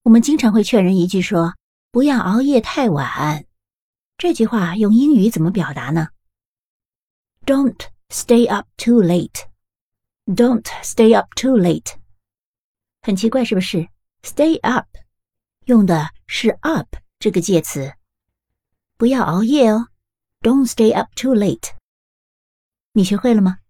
我们经常会劝人一句说，不要熬夜太晚。这句话用英语怎么表达呢？ Don't stay up too late. Don't stay up too late. 很奇怪是不是？ Stay up 用的是 up 这个介词。不要熬夜哦， Don't stay up too late. 你学会了吗？